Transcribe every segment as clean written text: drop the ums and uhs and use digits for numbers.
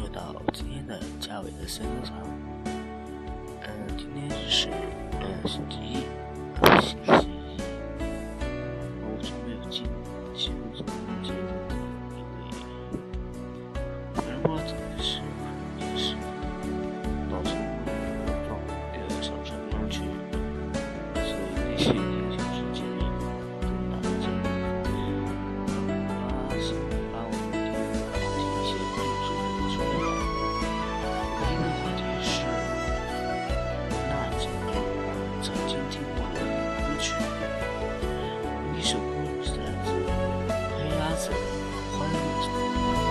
到今天的嘉伟的森歌场。今天是星期一，我从没有进入这个节目的因为反正我真的是也是到时候上传不上去，所以那些影响是建议跟大家讲。是把我们今天的话题先说出来。我今天的话题是那几个曾经听过的歌曲。一首歌是来自黑鸭子的《欢乐颂》。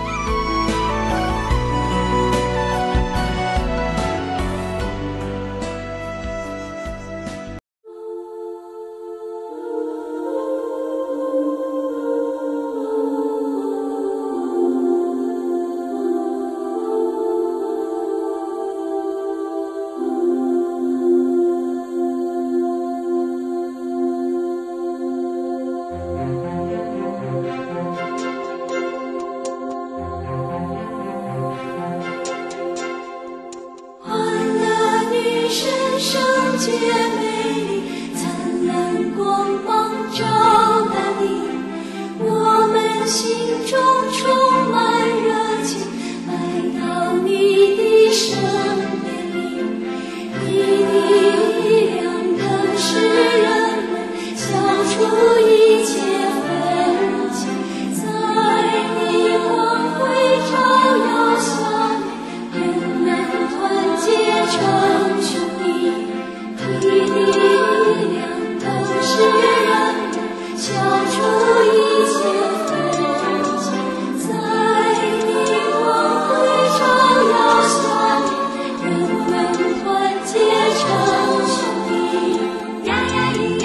姐美丽，灿烂光芒照大地，我们心中充满热情，来到你的圣殿里，你的力量更使人们消除一切纷争，在你光辉照耀下，人们团结成兄弟。你的力量更使人们消除一切纷争，在你光辉照耀下，人们团结成兄弟。呀呀咿耶，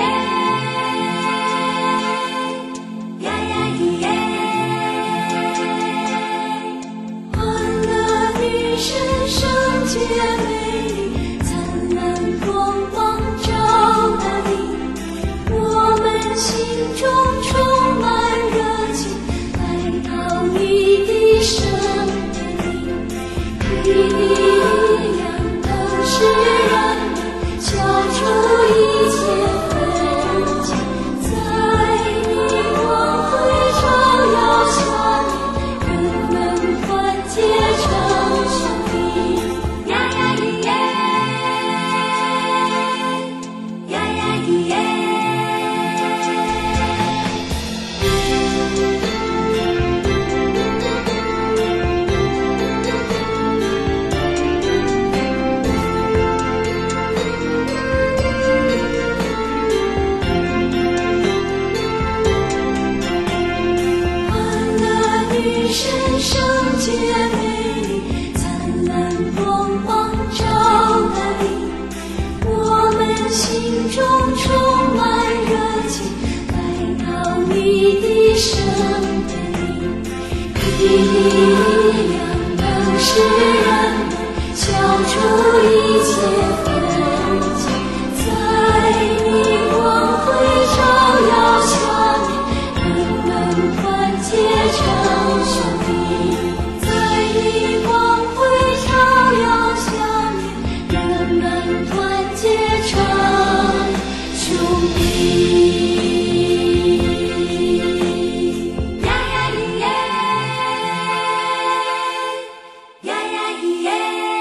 呀呀咿耶，欢乐女神圣洁美丽，灿烂光芒照大地，我们心中充满热情，来到你的圣殿里，你的力量更使人们消除一切纷争，在你光辉照耀下，人们团结成兄弟。呀呀咿耶，呀呀咿耶。欢乐女神圣洁美丽，灿烂光芒照大地，我们心中充满热情，来到你的圣殿里，你的力量更使人们消除一切纷争，在你光辉照耀下，人们团结成兄弟，在你光辉照耀下，人们团结成兄弟。呀呀咿耶，呀呀咿耶。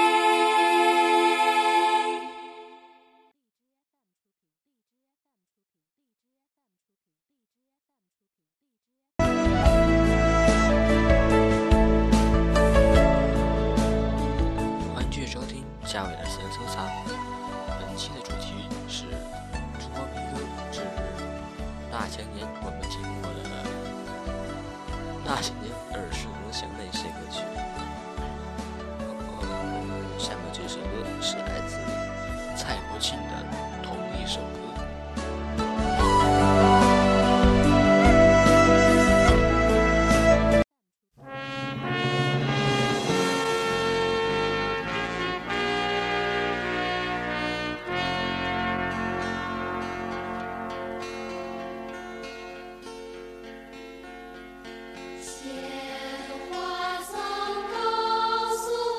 欢迎继续收听嘉伟的私人搜查。本期的主题是中国民歌之那些年我们听过的那些年耳熟能详的一些歌曲。我们下面这首歌是来自蔡国庆的同一首歌。 鲜花送告诉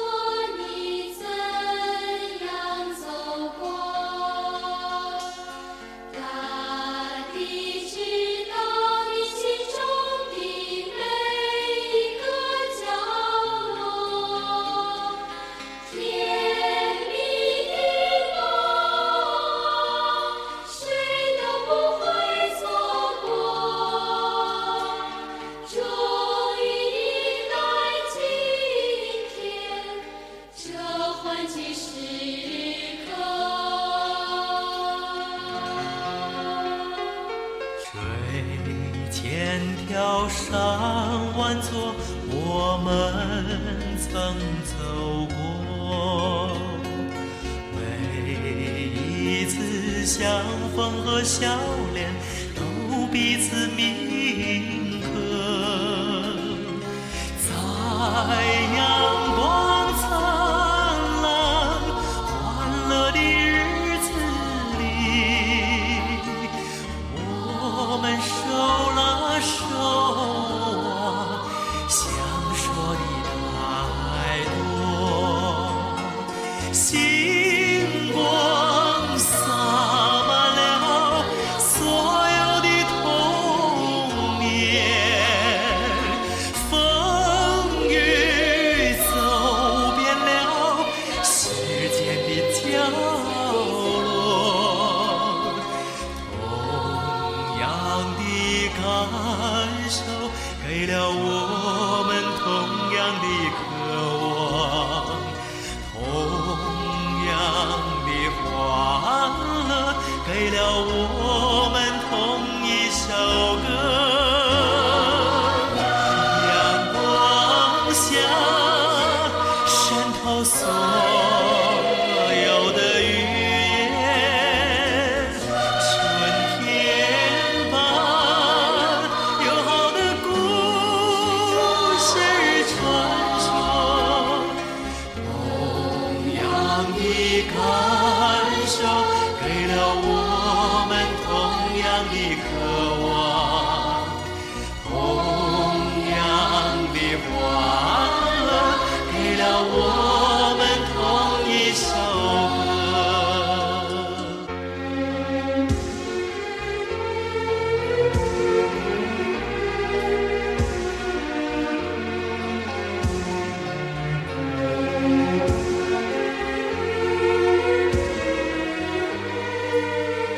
高山万座，我们曾走过。每一次相逢和笑脸，都彼此铭刻。在阳光灿烂、欢乐的日子里，我们手拉手啊，想说的太多。星光洒满了所有的童年，风雨走遍了世间的角落，同样的感受给了我们同样的渴望，同样的欢乐给了我们同一首歌。阳光下渗透所有的语言，春天般友好的故事传说，同样的感受给了我们同样的渴望，同样的欢乐给了我们同一首歌。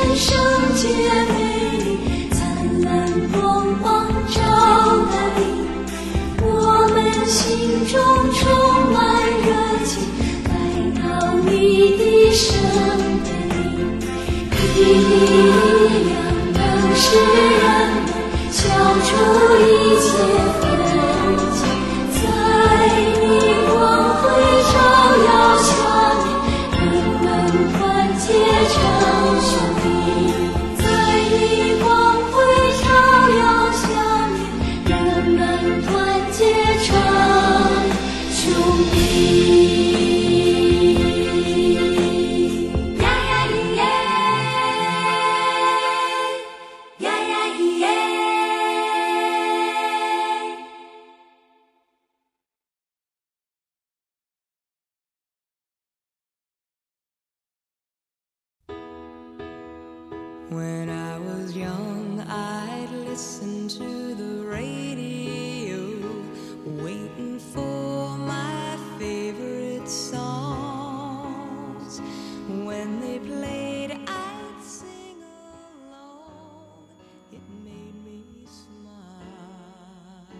人生皆美丽，灿烂光芒照大地。我们心中充满热情，来到你的身边里，你的力量能使人们消除一切纷争，在你光辉照耀下面，人们团结成兄弟。在你光辉照耀下面，人们团结成兄弟。呀呀咿耶，呀呀咿耶。 When I was young, I'd listen to the radio, waiting for my favorite songs. When they played, I'd sing along. It made me smile.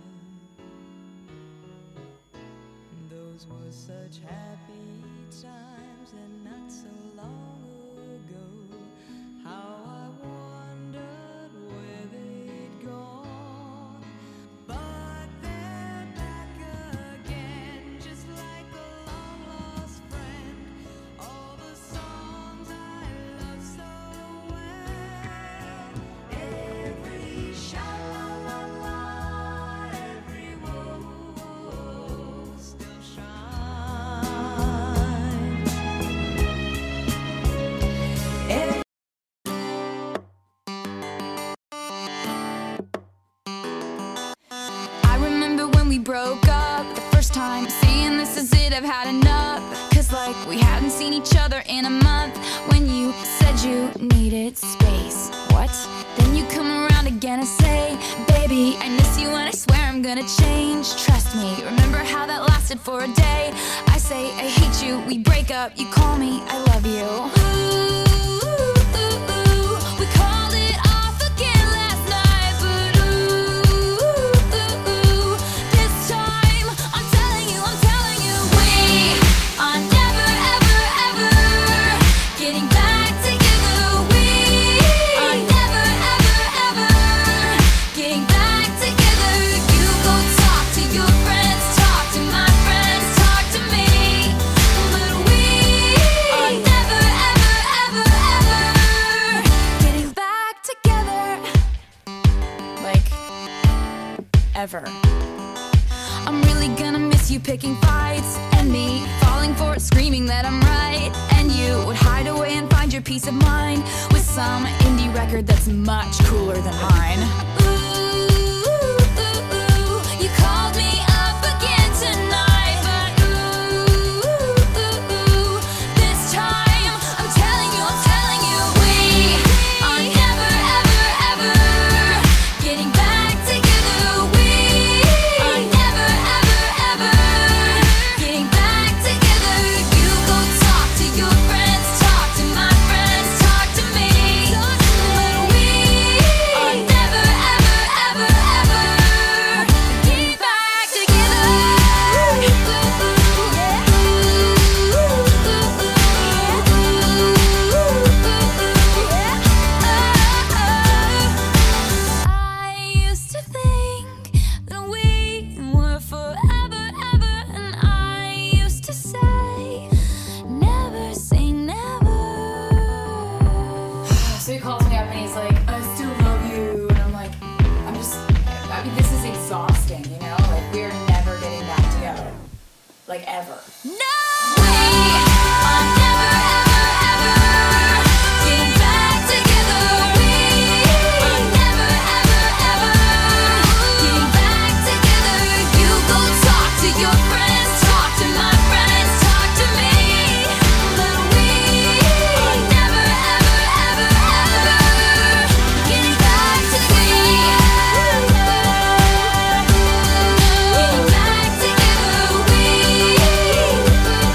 Those were such happy times, and not so long ago. How I wondered where they'd gone, but they're back again, just like a long-lost friend. All the songs I love so well, every sha-la-la-la, every whoa-whoa still shines. I remember when we broke up the first time, saying this is it, I've had enough. Cause like we hadn't seen each other in a month. When you said you needed space, what? Then you come around again and say, baby, I miss you and I swear I'm gonna change. Trust me, remember how that lasted for a day? I say I hate you, we break up, you call me, I love you. We called it off again last night, but this time I'm telling you, we are never ever ever getting back together. We are never ever ever getting back together. You go talk to your friends, talk to my friends, talk to me, but we are never ever ever ever getting back together. Like ever. I'm really gonna miss you picking fights, and me falling for it, screaming that I'm right. And you would hide away and find your peace of mind with some indie record that's much cooler than mine. You called me up again tonight, but this time I'm telling you, we are never ever ever getting back together. We are never ever ever getting back together. You go talk to your friends, talk to my friends, talk to me, but we are never ever ever ever getting back together. I used to think that we were forever, ever, and I used to say, never say never. So he calls me up and he's like, I still love you. And I'm like, I mean, this is exhausting, you know? Like, we're never getting back together. Like, ever. No! We are never ever ever getting back together. We are never ever ever getting back together. You go talk to your friends, talk to my friends, talk to me, but we are never ever ever ever getting back together. Getting back together. We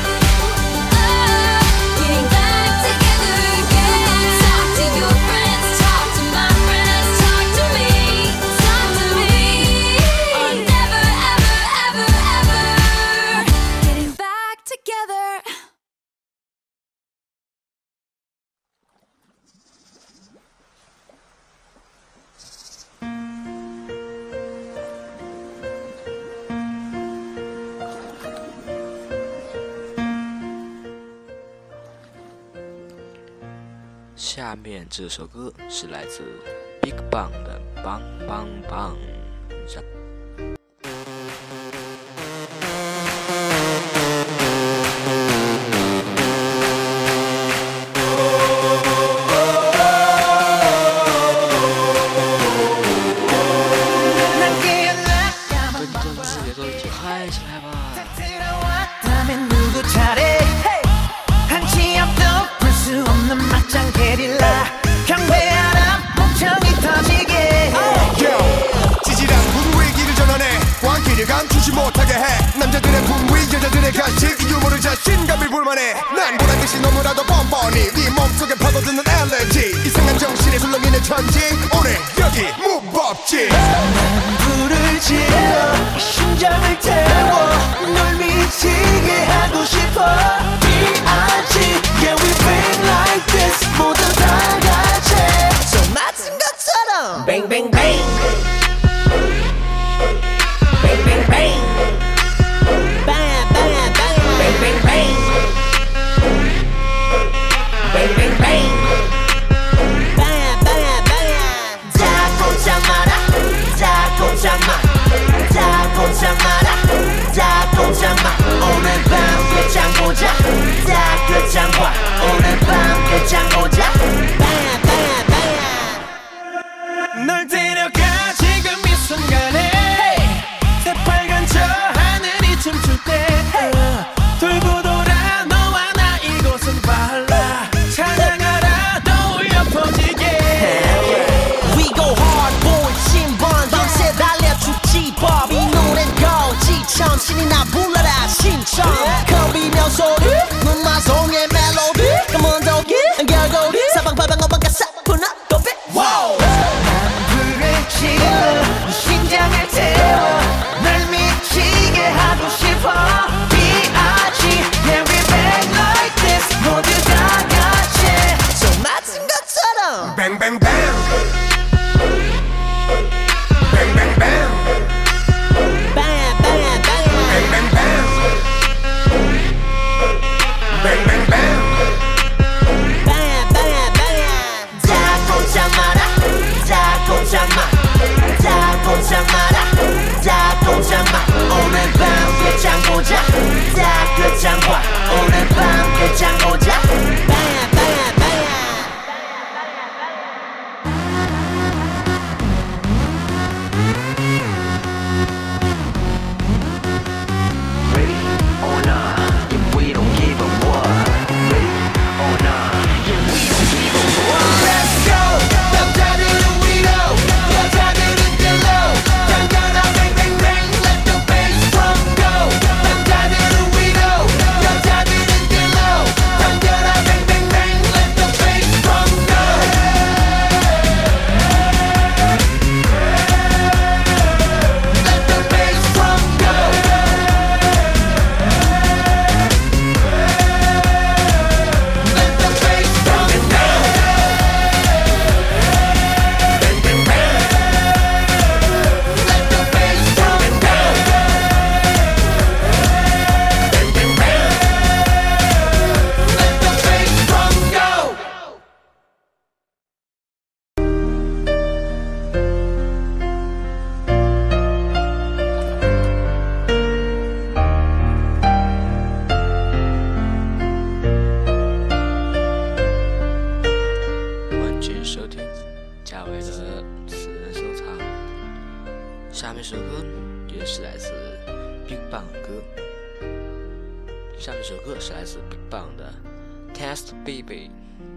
下面这首歌是来自 BigBang 的《棒棒棒》。跟着节奏一起嗨起来吧！ 들어왔다면 누구 차례 한치 앞도 볼 수 없는 맞짱 게릴라 경배하라 멍청이 터지게 지지랑 분위기를 전환해 광기를 감추지 못하게 해 남자들의 분위 여자들의 간식 유머를 자신감을 불만해 난 보란듯이 너무나도 뻔뻔히 네 몸속에 파고드는 엘레지 이상한 정신에 술렁이는 천지 오늘 여기 무법지 난 불을 질러 심장을 태워 널 미치게 하고 싶어 D.I.G. Yeah we bang like this 모두 다 같이 손 맞은 것처럼 Bang bang bang Bang bang bang Bang bang bang Bang bang bang Bang bang bang Bang bang bang 다 꼼짝 마라 다 꼼짝 마 다 꼼짝 마라 다 꼼짝 마 오늘 밤 끝장 보자 다 끝장 봐 오늘 밤 끝장 보자 Bang bang bang 널 데려가 지금 이 순간에 새빨간 저 하늘이 춤출 때 돌고 돌아 너와 나 이곳은 발라 찬양하라 떠올려 퍼지게 We go hard boy 신번 밤새 달려 죽지 법 이 노래는 거지처럼 신이 나 불러라 신청 겁이며 소리 눈마송의 멜로디 Come on doggy 결국이 사방팔방 어방가 사뿐한 더비 Wow 난 불을 질러 심장을 태워 날 미치게 하고 싶어 D.I.G. Yeah we bang like this 모두 다 같이 손 맞은 것처럼 Bang bang bang Bang bang bang Bang bang bang Bang bang bang Bang bang bang Bang bang bang 다 꼼짝 마라 다 꼼짝 마 다 꼼짝 마라 다 꼼짝 마 오늘 밤 끝장 보자 다 끝장 봐 오늘 밤 끝장 보자 Bang bang bang Ready or not, if we don't give a what. Ready or not, if we don't give a what. Let's go 남자들은 위로 여자들은 below 당겨라 bang bang bang let the bass drum go 남자들은 위로 여자들은 below 당겨라 bang bang bang let the bass drum go Let the bass drum go Let the bass drum go Bang bang bang Let the bass drum go Bang bang bang Let the bass drum go 欢迎收听嘉伟的私人收藏。下面首歌也是来自 BigBang 的歌，下面首歌是来自 BigBang 的 Test Baby。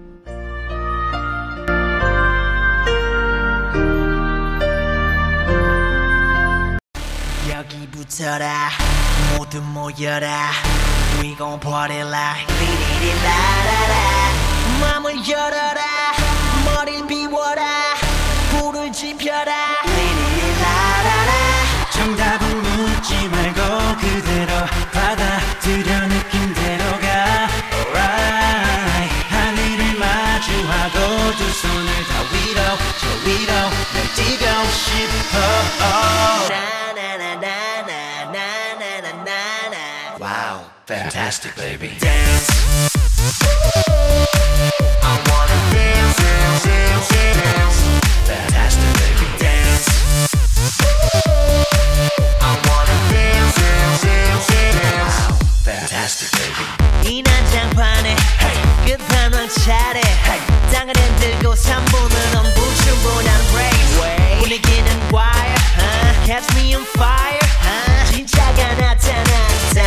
여기 붙어라 모두 모여라 We gon' party like 리리리라라라 맘을 열어라 머리를 비워라 불을 지펴라 리리리라라라 정답은 묻지 말고 그대로 받아들여 느낌대로 가 Alright 하늘을 마주하고 두 손을 다 위로 저 위로 날 뛰고 싶어 Wow, fantastic, baby. Dance I wanna dance Fantastic baby dance. I wanna dance. Fantastic baby. 이 난장판에 끝판왕 차례 땅을 흔들고 3분은 엄부충분한 race 분위기는 wire catch me on fire 진짜가 나타난다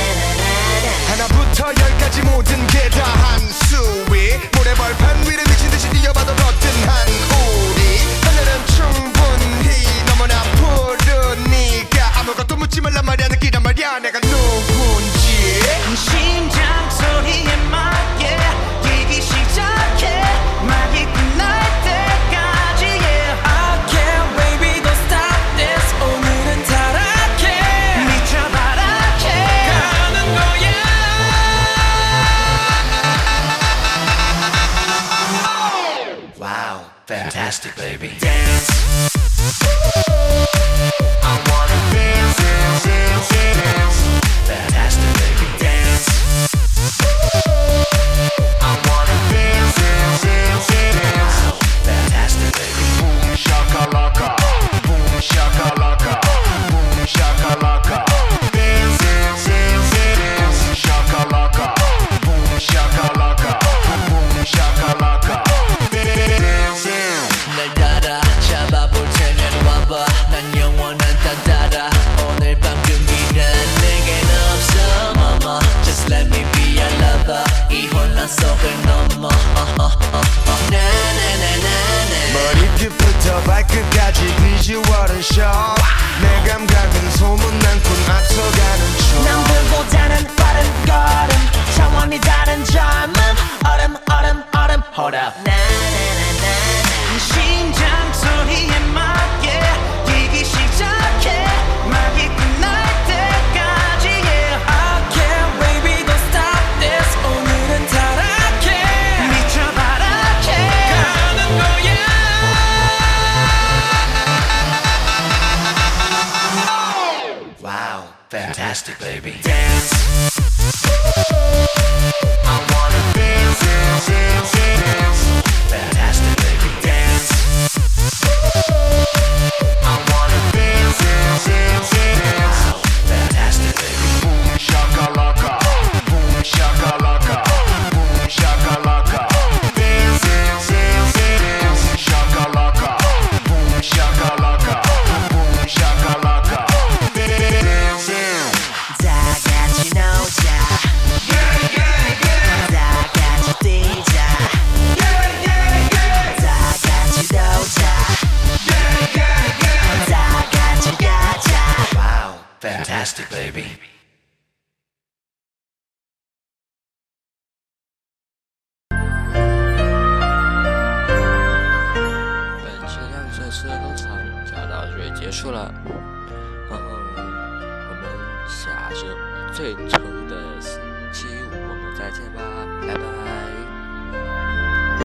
하나부터 열까지 모든 게 다 한 수위 모래벌판 위를 미친듯이 뛰어봐도 거뜬한 우리 하늘은 충분히 너무나 푸르니까 아무것도 묻지 말란 말이야 느끼란 말이야 내가 누군지 심장 소리에 맞게 뛰기 시작해 막이 끝날 때까지 yeah. I can't baby don't stop this 오늘은 타락해 미쳐 바라게 가는 거야 Wow, fantastic baby dance. I wanna dance. Fantastic baby dance. I wanna dance. Fantastic baby. Boom shakalaka, boom shakalaka, boom shakalaka. Dance, boom shakalaka, boom shakalaka, boom shakalaka. 날 따라 잡아볼 테면 와봐 난 영원한 딴따라 오늘 밤 금기는 내겐 없어 mama Just let me be your lover 이 혼란 속을 넘어 나나나나나 머리끝부터 발끝까지 비주얼은 shock 내 감각은 소문난 꿈 앞서가는 춤 남들보다는 빠른 걸음 차원이 다른 젊음 얼음 Hold up 나나나나나 심장 소리에 맞게 뛰기 시작해 막이 끝날 때까지 yeah. I can't baby don't stop this 오늘은 타락해 미쳐 바라게 가는 거야 Wow, fantastic baby dance. I wanna dance. Fantastic baby dance. I wanna dance. Fantastic baby. Boom shakalaka, boom shakalaka, boom shakalaka. Dance, boom shakalaka, boom shakalaka, boom shakalaka. 다 같이 놀자 다 같이 뛰자 다 같이 놀자 다 같이 가자 Wow, fantastic baby. 本期亮色诗的工厂就要到这里结束了，然后我们下周最丑的星期五我们再见吧。